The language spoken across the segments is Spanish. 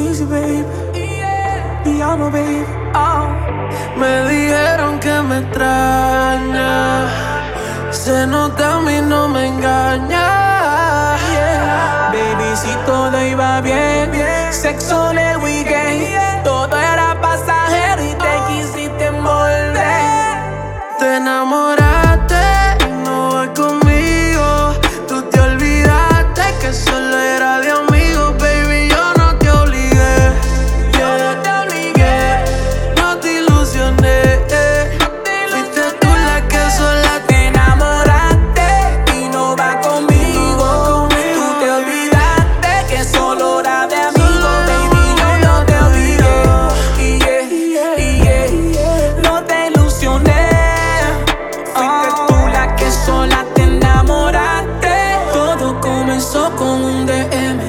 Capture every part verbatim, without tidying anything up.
easy, baby. Piano, baby. Oh. Me dijeron que me extraña. Se nota a mí, no me engaña. Yeah. Baby, si todo iba bien, bien. Sexo en el weekend, yeah. Todo era pasajero y te quisiste envolver. Te enamoraste y no vas conmigo. Tú te olvidaste que solo era de amigos, baby. Yo no te obligué, yo no te obligué, no te ilusioné. Fuiste tú la que sola te enamoraste y no vas conmigo. Tú te olvidaste que solo era de amigos, baby. Yo no te obligué, yeah, yeah, yeah. No te ilusioné. Fuiste tú la que sola te enamoraste. Todo comenzó con un D M.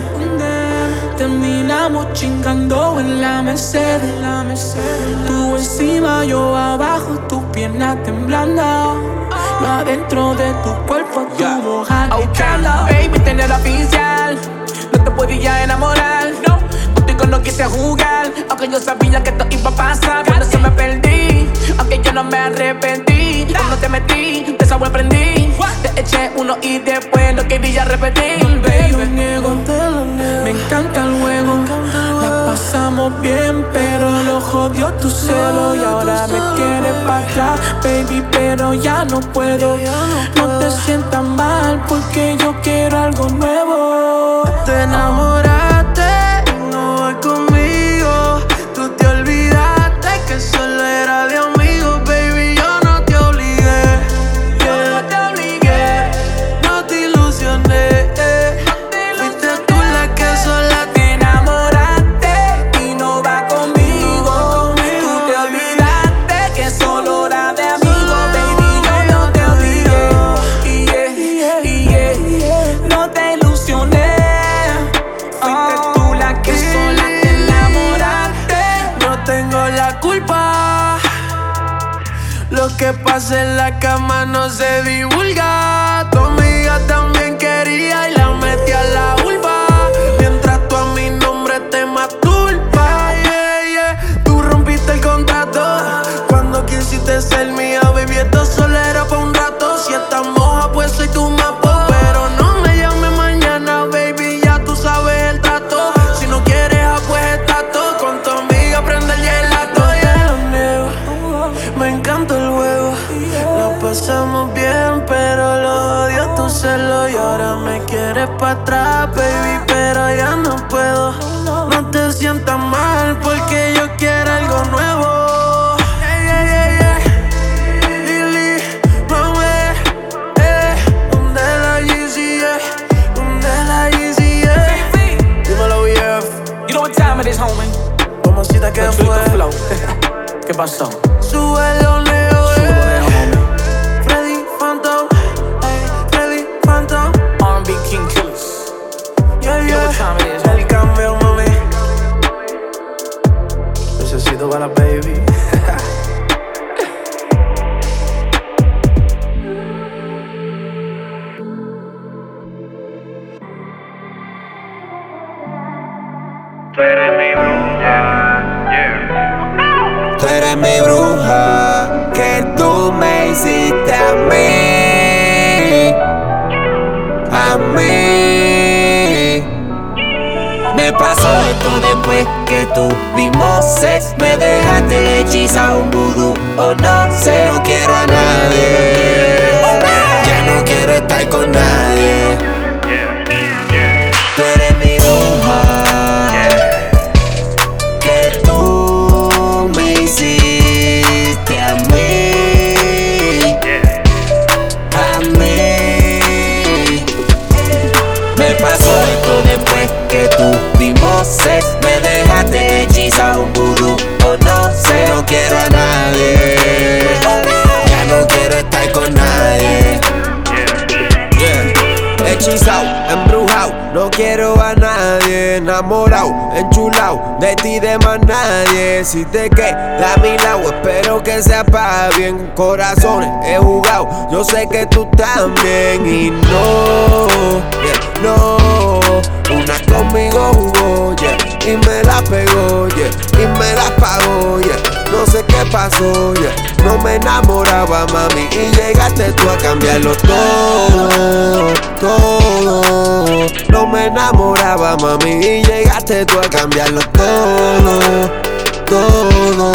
Terminamos chingando en la Mercedes. Tú encima, yo abajo, tus piernas temblando. Yo adentro de tu cuerpo, tu Yeah. boca Okay, gritando. baby, tener oficial. No te podía enamorar. No, contigo no quise jugar. Aunque yo sabía que esto iba a pasar. Por eso me perdí. Aunque yo no me arrepentí. Cuando te metí, te sorprendí. Te eché uno y después no quería repetir, Te lo baby. niego, me encanta el juego. La pasamos bien, pero lo jodió tu celo. Y ahora me quieres para atrás, baby, pero ya no puedo. No te sientas mal, porque yo quiero algo nuevo. te enamoraste y no vas conmigo. Tú te olvidaste que solo era de amigos, baby. Yo no te obligué, Yo no te obligué, no te ilusioné. Fuiste tú la que sola te te enamoraste y no va conmigo. Tú te olvidaste que solo era de amigos, baby. Yo no te obligué, yeah, yeah, yeah. No te ilusioné. Fuiste tú la que sola te enamoraste. no tengo la culpa. Lo que pasa en la cama no se divulga. Tu amiga también quería y la metí a la vulva. Mientras tú a mi nombre te masturba, yeah, yeah. Tú rompiste el contrato cuando quisiste ser mía, baby. Esto solo era pa' un rato. Si estás moja, pues soy tu mapa. Pero no me llames mañana, baby. Ya tú sabes el trato. Si no quieres, ah, pues está todo. Con tu amiga prende el gelato, yeah. Lo niego, me encanta el juego. Lo pasamos bien, pero lo odio tu celo. Y ahora me quieres pa' atrás, baby, pero ya no puedo. No te sientas mal, porque yo quiero algo nuevo. Yeah, yeah, yeah, yeah. Lili, mami, eh. ¿Dónde la Yeezy, yeah? ¿Dónde la Yeezy, yeah? Dímelo, B F. You know what time it is, homie. Mamacita, ¿qué Let's fue? do the flow. ¿Qué pasó? Súbelo, Leo, Súbelo, yeah. homie. Freddy Phantom, ey, Freddy Phantom. R and B King Killers. Yeah, You know what yeah. time it is, El cambio, mami. Necesito para la baby. Tú eres mi bruja, yeah. Tú eres mi bruja, que tú me hiciste a mí, a mí. Me pasó esto después que tuvimos sex. Me dejaste hechizado un vudú, o no sé. No quiero a nadie, ya no quiero estar con nadie. Tú eres mi bruja, que tú me hiciste a mí, a mí. Me pasó esto después que tuvimos sex. Me dejaste hechizado un vudú, o no sé. No quiero a nadie, ya no quiero estar con nadie. Yeah. Hechizado, embrujado, no quiero a nadie. Enamorado, enchulado, de ti de más nadie. Si te quedas a mi lado, espero que sea pa' bien. Corazones he jugado, yo sé que tú también. Y no, yeah, no, una conmigo jugó, yeah, y me la pegó. pasó, yeah. No me enamoraba, mami, y llegaste tú a cambiarlo todo, todo. No me enamoraba, mami, y llegaste tú a cambiarlo todo, todo.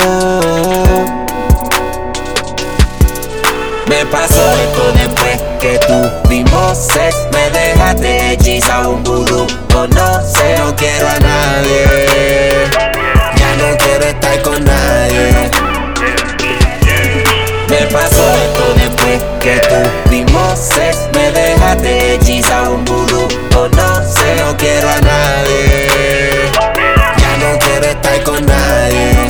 Me pasó esto después que tuvimos sex. Me dejaste hechizado un vudú, o no sé, no quiero a nadie. Ya no quiero estar con nadie. Me pasó esto después que tuvimos sex. Me dejaste hechizado un vudú, o no sé, no quiero a nadie. Ya no quiero estar con nadie.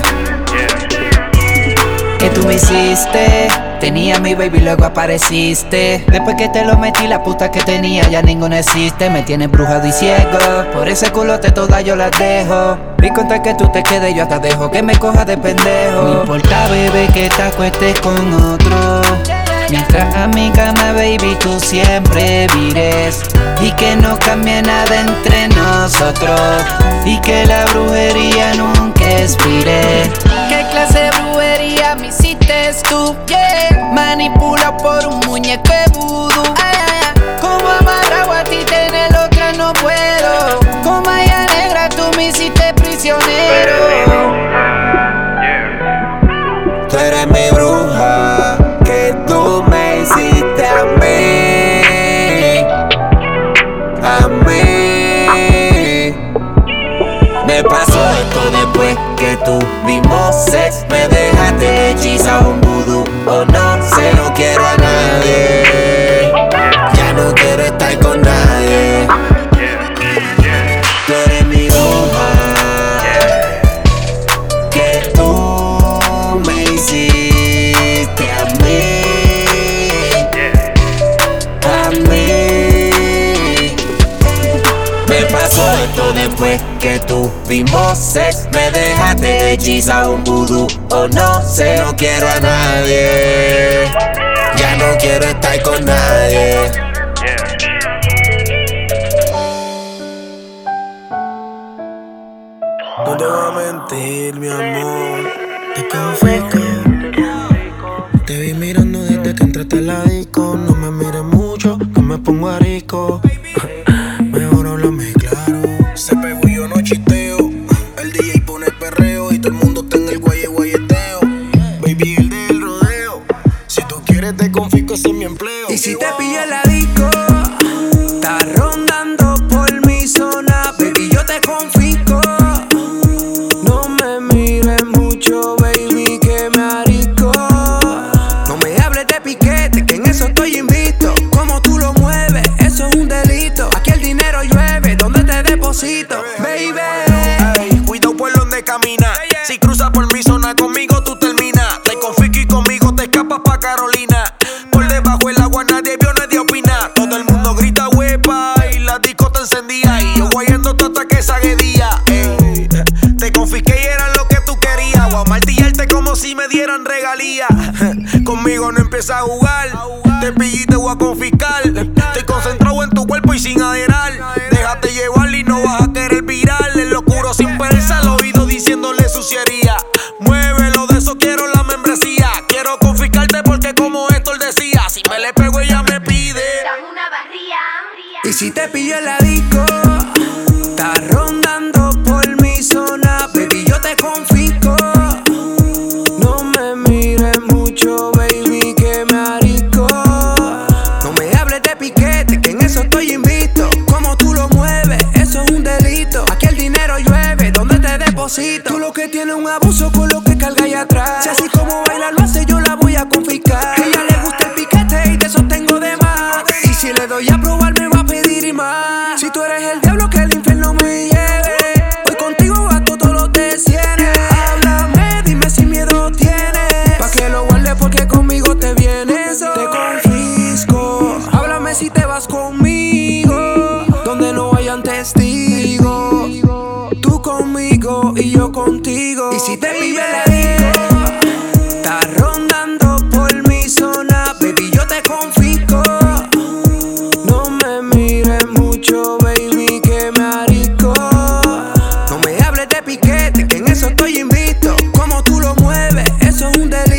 ¿Qué tú me hiciste? Tenía mi baby, luego apareciste. Después que te lo metí, la puta que tenía ya ninguna existe. Me tienes brujado y ciego, por ese culote todas yo las dejo. Vi contar que tú te quedes, yo hasta dejo que me coja de pendejo. No importa, bebé, que te acuestes con otro. Mientras a mi cama, baby, tú siempre vires. Y que no cambie nada entre nosotros. Y que la brujería nunca expire. ¿Qué clase de brujería me hiciste tú? Yeah. Manipulado por un muñeco de vudú. Ay, ay, ay. Como amarrado a ti tener otra no puedo. Como Maya Negra tú me hiciste prisionero. Tú eres mi bruja, que tú me hiciste a mí, a mí. Me pasó esto después que tuvimos sex. Me dejaste hechizado un vudú, o no sé, no quiero a nadie. Ya no quiero estar con nadie. Tú eres mi bruja, que tú me hiciste a mí, a mí. Me pasó esto después que tuvimos sex. Me dejaste hechizado un vudú, o no sé, no quiero a nadie. Ya no quiero estar con nadie. No te voy a mentir, mi amor. Te confisco. Te vi mirando desde que entraste a la disco. No me mires mucho, que me pongo arisco. Mejor háblame claro. Se pegó y yo no chisteo. El D J pone perreo y todo el mundo está en el guaye guayeteo. Baby, el del rodeo. Si tú quieres te confisco, ese es mi empleo. Y si te pillé la disco, estás rondando por mi zona, baby, yo te confisco. No me mires mucho, baby, que me arisco. No me hables de piquete, que en eso estoy invicto. Como tú lo mueves, eso es un delito. Aquí el dinero llueve, donde te deposito, baby. Ey, cuidado por donde camina. Si cruzas por mi zona conmigo tú terminas. Te confisco y conmigo te escapas pa' Carolina. Por debajo el agua nadie vio, nadie opina. Todo el mundo grita huepa y la disco te encendía. Y yo guayando hasta que saque día. Ey, te confisqué y eran lo que tú querías. Voy a martillarte como si me dieran regalía. Conmigo no empieza a jugar. Te pillé y te voy a confiscar. Estoy concentrado en tu cuerpo y sin aderar. Déjate llevar y no vas a querer virar. El locuro sin pereza al oído diciéndole suciería. Muévelo, de eso quiero la membresía. Quiero confiscarte porque como Héctor decía, si me le pego ella me pide. Dame una barría. Y si te pillé la disco, estás rondando por mi zona, baby, yo te confisco. No me mires mucho, baby, que me arisco. No me hables de piquete, que en eso estoy invicto. Como tú lo mueves, eso es un delito. Aquí el dinero llueve, donde te deposito. Tú lo que tienes un abuso con lo que carga allá atrás. Si así como baila lo hace, yo la voy a confiscar. A ella le gusta el piquete y de eso tengo de más. Y si le doy a probar me va a pedir y más. Si tú eres el diablo que el infierno me lleve, voy contigo a todos los desienes. Háblame, dime si miedo tienes, pa' que lo guardes porque conmigo te vienes. Te confisco. Háblame si te vas conmigo, donde no hayan testigos. Tú conmigo y yo contigo. Y si te vive la disco, estás rondando por mi zona, baby, yo te confisco. No me mires mucho, baby, que me arisco. No me hables de piquete, que en eso estoy invicto. Como tú lo mueves, eso es un delito.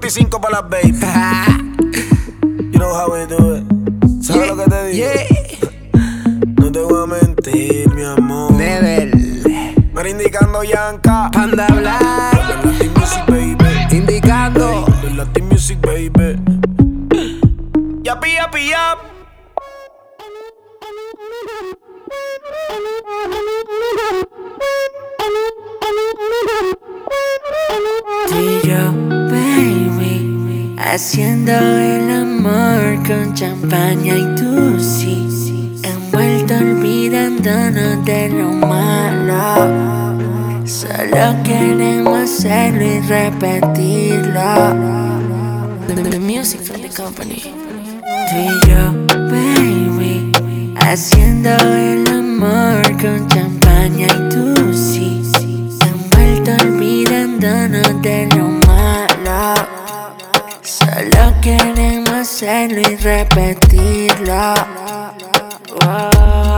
cuatro y cinco para las baby. You know how we do it. ¿Sabes Yeah, lo que te digo? yeah. No te voy a mentir, mi amor. Never. Me indicando Yanka. Panda Black. Latin Music, baby. Indicando. Hey, Latin Music, baby. Yapi, yapi, yap. Tú y yo, baby, haciendo el amor con champaña y tú sí, envuelto olvidándonos de lo malo. Solo queremos hacerlo y repetirlo. The music from the company. Tú y yo, baby, haciendo el amor con champaña y tú sí, envuelto olvidándonos de lo malo. Solo queremos hacerlo y repetirlo. Wow.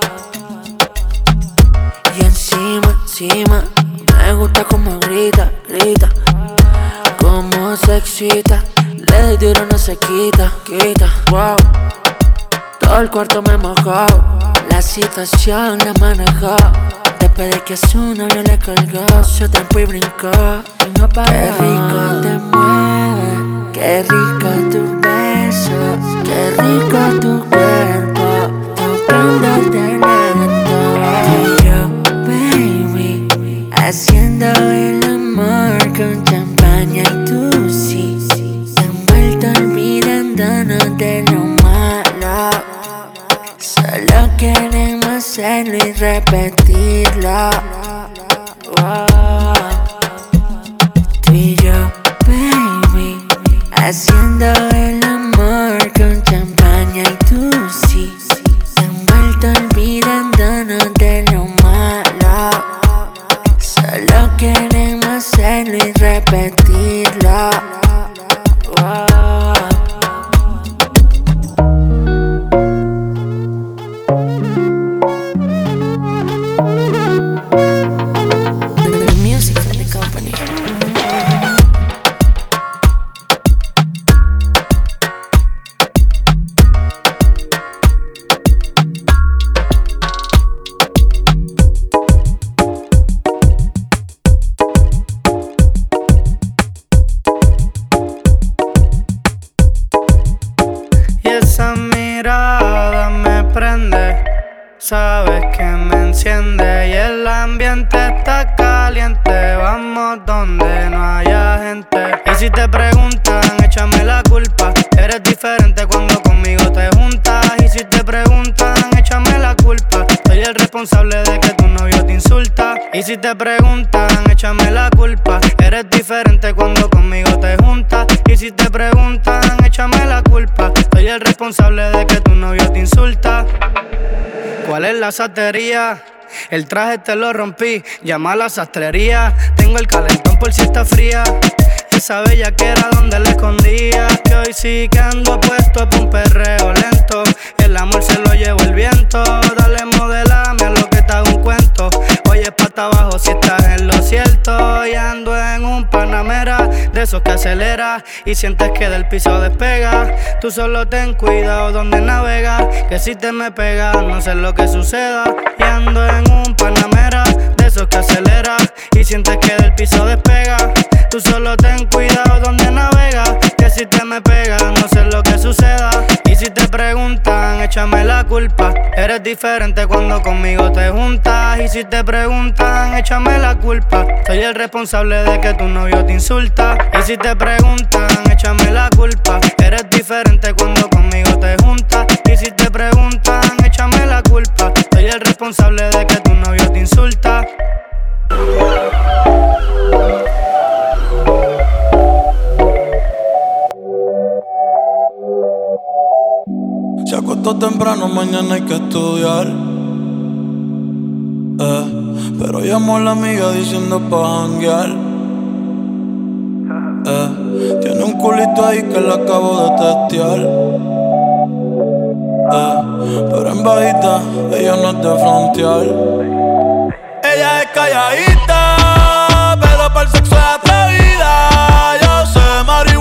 Y encima, encima, me gusta como grita, grita, como se excita. Le doy duro, no se quita, quita. Wow. Todo el cuarto me mojó, la situación la manejó. Después de que su novio le colgó, se trepó y brincó y no paró. Qué rico te mueve, qué rico tu beso, qué rico tu cuerpo, tocándote lento. Tú y yo, baby, haciendo el amor con champaña y tú sí, envuelto olvidándonos de lo malo. Solo queremos hacerlo y repetirlo. Wow. Tú y yo, baby, haciendo el amor con champaña y tú sí, envuelto olvidándonos de lo malo. Solo queremos hacerlo y repetirlo. Wow. The music from the company. Y esa mirada me prende, sabes que me enciende. Y el ambiente está caliente, vamos donde no haya gente. Y si te preguntan, échame la culpa. Eres diferente cuando conmigo te juntas. Y si te preguntan, échame la culpa. Soy el responsable de que tu novio te insulta. Y si te preguntan, échame la culpa. Eres diferente cuando conmigo te juntas. Y si te preguntan, échame la culpa. Soy el responsable de que tu novio te insulta. ¿Cuál es la satería? El traje te lo rompí, llama a la sastrería. Tengo el calentón por si está fría. Esa bella que era donde la escondía. Que hoy sí que ando puesto pa' un perreo lento. El amor se lo llevó el viento. Dale, modelame a lo que te hago un cuento. Oye, pata abajo si estás en lo cierto. Y ando en un Panamera, de esos que acelera y sientes que del piso despega. Tú solo ten cuidado donde navegas, que si te me pegas no sé lo que suceda. Y ando en un Panamera, de esos que acelera y sientes que del piso despega. Tú solo ten cuidado donde navegas, que si te me pegas no sé lo que suceda. Y si te preguntan, échame la culpa. Eres diferente cuando conmigo te juntas. Y si te preguntan, échame la culpa. Soy el responsable de que tu novio te insulta. Y si te preguntan, échame la culpa. Eres diferente cuando conmigo te juntas. Y si te preguntan, échame la culpa. Soy el responsable de que tu novio te insulta. Se acostó temprano, mañana hay que estudiar. Eh, pero llamó a la amiga diciendo pa' janguear. Eh, tiene un culito ahí que la acabo de testear. Eh, pero en bajita, ella no es de frontear. Ella es calladita, pero para el sexo es atrevida. Yo sé, marihuana.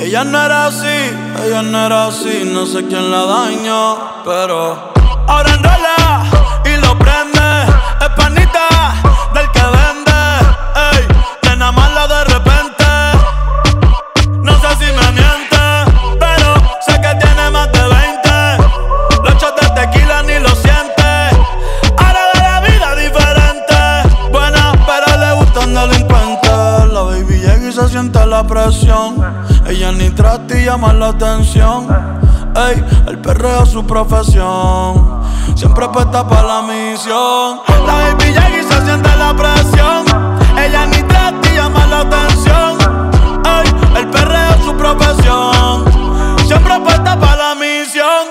Ella no era así, ella no era así, no sé quién la dañó, pero ahora enrola y lo prende, es panita del que vende, ey, nena mala de repente, no sé si me miente, pero sé que tiene más de veinte, los shots de tequila ni lo siente, ahora ve la vida diferente, buena pero le gustan delincuentes, la baby llega y se siente la presión. Ella ni trata y llama la atención. Ey, el perreo es su profesión. Siempre puesta pa' la misión. La baby llega y se siente la presión. Ella ni trata y llama la atención. Ey, el perreo es su profesión. Siempre puesta pa' la misión.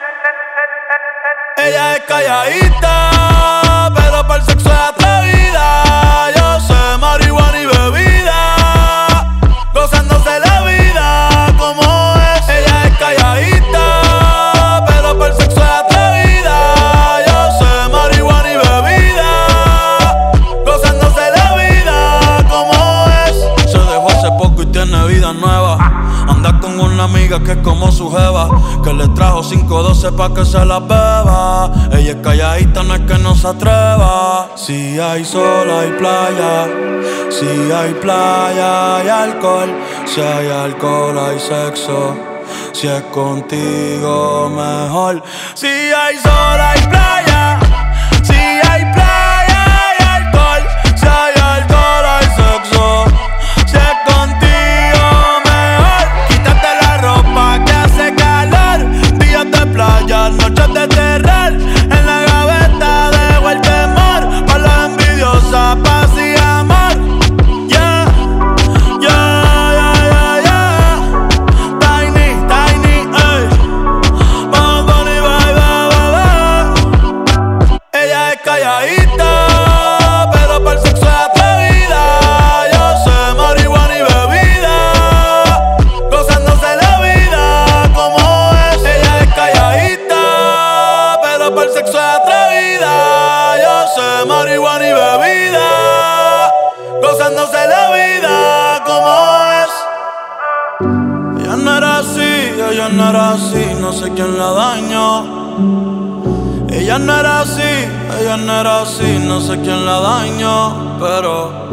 Ella es calladita, pero para el sexo es atrevida. Yo sé marihuana y bebida, gozándose la vida como es. Ella es calladita, pero por el sexo es atrevida. Yo sé marihuana y bebida, gozándose la vida como es. Se dejó hace poco y tiene vida nueva. Anda con una amiga que es como su jeva, que le trajo cinco doce pa' que se la beba. Ella es calladita, no es que no se atreva. Si hay sol hay playa, si hay playa hay alcohol, si hay alcohol hay sexo, si es contigo mejor. Si hay sol hay playa, si hay playa hay alcohol, si hay alcohol hay sexo, si es contigo mejor. Quítate la ropa que hace calor, días de playa, noches de terror. En la gaveta dejo el temor, pa' la envidiosa, paz y amor. Yeah, yeah, yeah, yeah, yeah. Tiny, tiny, ey. Vamos, Bonnie, bye, bye, bye, bye. Ella es calladita, pero para el sexo es atrevida. Yo sé marihuana y bebida, gozándose la vida como es. Ella es calladita, pero para el sexo es atrevida. Yo sé marihuana y bebida, gozándose la vida como es. Ella no era así, ella no era así, no sé quién la dañó. Ella no era así, ella no era así, no sé quién la dañó, pero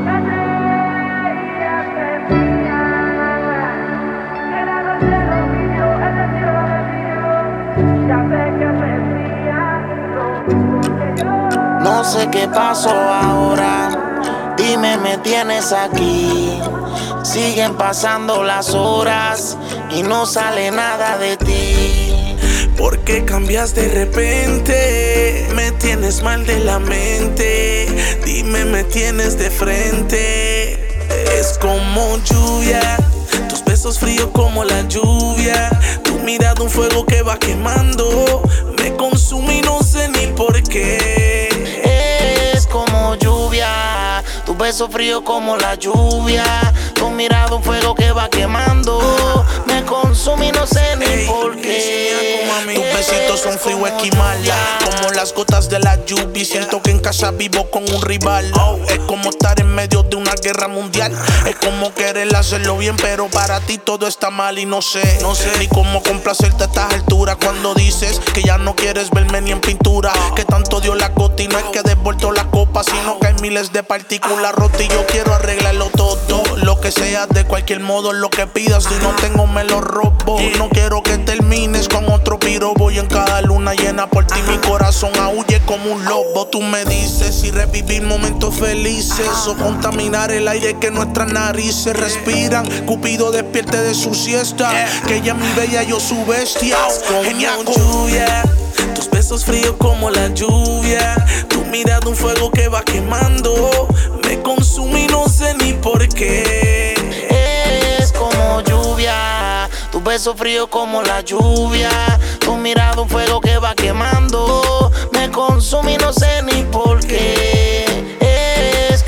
no sé qué pasó ahora, dime, me tienes aquí. Siguen pasando las horas y no sale nada de ti. ¿Por qué cambias de repente? Me tienes mal de la mente. Dime, me tienes de frente. Es como lluvia, tus besos fríos como la lluvia. Tu mirada un fuego que va quemando. Me consume y no sé ni por qué. Es como lluvia, tu beso frío como la lluvia. Tu mirada un fuego que va quemando. Me consume y no sé ni Ey, por qué. Tus besitos son frío esquimal, como las gotas de la lluvia. Y siento que en casa vivo con un rival. Es como estar en medio de una guerra mundial. Es como querer hacerlo bien, pero para ti todo está mal. Y no sé, no sé ni cómo complacerte a estas alturas. Cuando dices que ya no quieres verme ni en pintura, que tanto dio la gota y no es que he devuelto la copa, sino que hay miles de partículas rotas y yo quiero arreglarlo todo. Lo que sea, de cualquier modo, lo que pidas. Si no tengo, me lo robo. No quiero que termines con otro piro. Voy en cada luna llena por ti. Mi corazón aúlle como un lobo. Tú me dices si revivir momentos felices o contaminar el aire que nuestras narices respiran. Cupido despierte de su siesta, que ella es mi bella, yo su bestia. Como lluvia, tus besos fríos como la lluvia. Tu mirada un fuego que va quemando. Me consume y no sé ni por qué. Es como lluvia, tu beso frío como la lluvia. Tu mirada un fuego que va quemando. Me consume y no sé ni por qué. Es como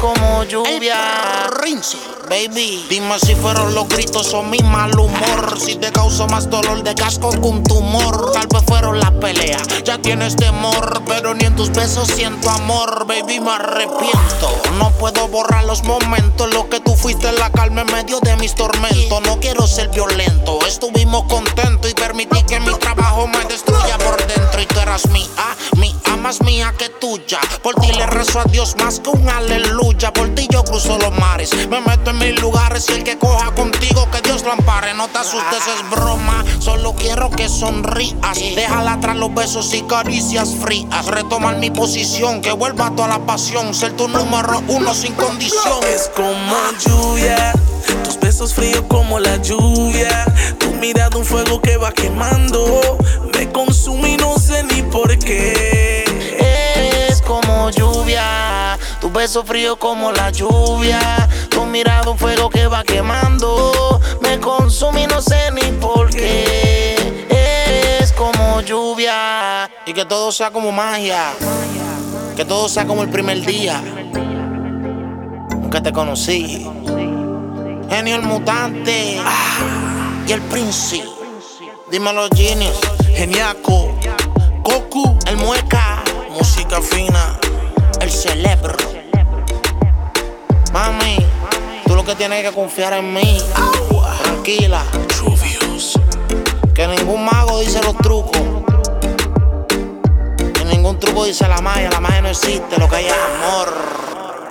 como lluvia. Rinse, baby. Dime si fueron los gritos o mi mal humor. Si te causó más dolor de casco que un tumor. Tal vez fueron las peleas, ya tienes temor. Pero ni en tus besos siento amor, baby, me arrepiento. No puedo borrar los momentos en los que tú fuiste la calma en medio de mis tormentos. No quiero ser violento, estuvimos contentos y permití que mi trabajo me destruya por dentro. Y tú eras mía, mía, más mía que tuya. Por ti le rezo a Dios más que un aleluya. Por ti yo cruzo los mares, me meto en mil lugares. Y el que coja contigo, que Dios lo ampare. No te asustes, es broma, solo quiero que sonrías. Déjala atrás los besos y caricias frías. Retomar mi posición, que vuelva toda la pasión. Ser tu número uno sin condición. Es como lluvia, tus besos fríos como la lluvia. Tu mirada un fuego que va quemando. Me consume y no sé ni por qué. Es como lluvia, tu beso frío como la lluvia. Tu mirada un fuego que va quemando. Me consume y no sé ni por qué. Es como lluvia. Y que todo sea como magia, que todo sea como el primer día que te conocí. Genio el mutante, ah, y el Prince. Dímelo, Genius. Geniaco, Goku, el mueca, música fina, el cerebro. Mami, tú lo que tienes que confiar en mí. Agua. Tranquila, Truvius. que ningún mago dice los trucos. Que ningún truco dice la magia. La magia no existe, lo que hay es amor.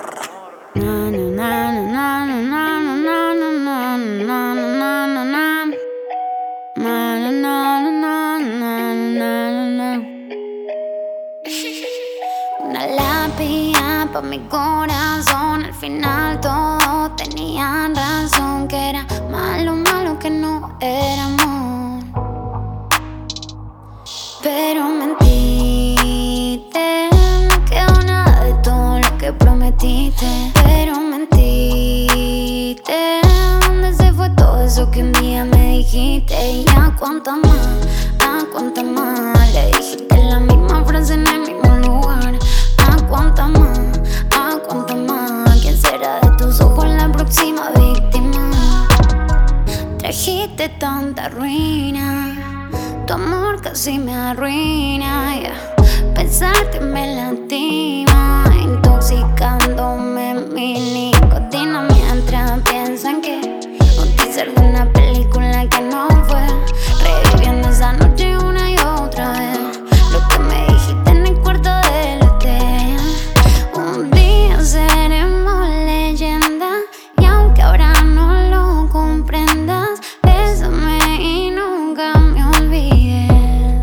Una lápida pa' mi corazón. Al final todos tenían razón, que era malo, malo, que no era amor. Pero mentiste, no quedó nada de todo lo que prometiste. Pero mentiste, ¿dónde se fue todo eso que un día me dijiste? Y a cuánta más, a cuánta más le dijiste la misma frase en el mismo lugar. A cuánta más, a cuánta más, ¿quién será de tus ojos la próxima víctima? Trajiste tanta ruina, tu amor casi me arruina, yeah. Pensarte me lastima, intoxicándome mi nicotina. Mientras piensan que un teaser de una película que no fue, reviviendo esa noche una y otra vez. Lo que me dijiste en el cuarto del hotel. Un día seremos leyenda, y aunque ahora no lo comprendas, bésame y nunca me olvides.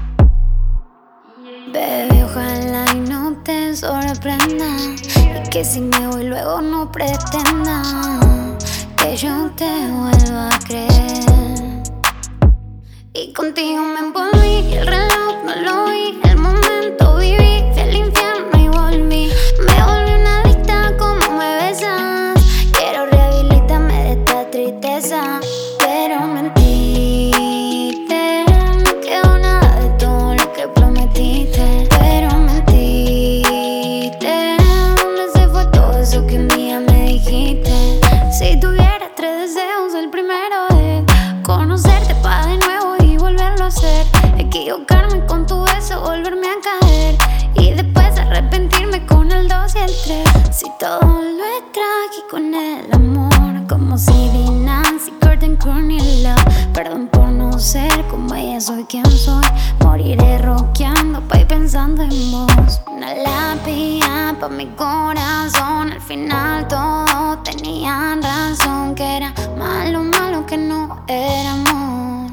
Baby, ojalá y no te sorprenda, y que si me voy luego no pretenda que yo te vuelva a creer. Y contigo me envolví, y el reloj no lo vi. El momento viví, fui al infierno y volví. Me volví una adicta como me besas. Quiero rehabilitarme de esta tristeza. Pero mentiste, no quedó nada de todo lo que prometiste. Pero mentiste, ¿dónde se fue todo eso que un día me dijiste? Si tuviera tres deseos, el primero es conocerte pa' de nuevo y volverlo a hacer. Equivocarme con tu beso, volverme a caer, y después arrepentirme con el dos y el tres. Si todo lo es trágico en el amor, como si di Nancy, Curtin, Courtney Love. Perdón por no ser como ella, soy quien soy. Moriré rockeando pa' ir pensando en vos. Una lápida pa' mi corazón. Al final todos tenían razón, que era malo, malo, que no era amor.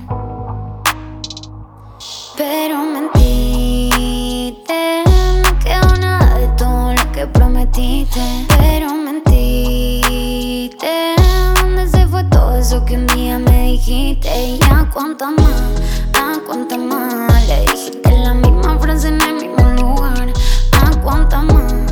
Pero mentiste, no quedó nada de todo lo que prometiste. Pero mentiste, ¿dónde se fue todo eso que un día me dijiste? Y a cuánta más, a cuánta más le dijiste la misma frase en el mismo lugar. A cuánta más,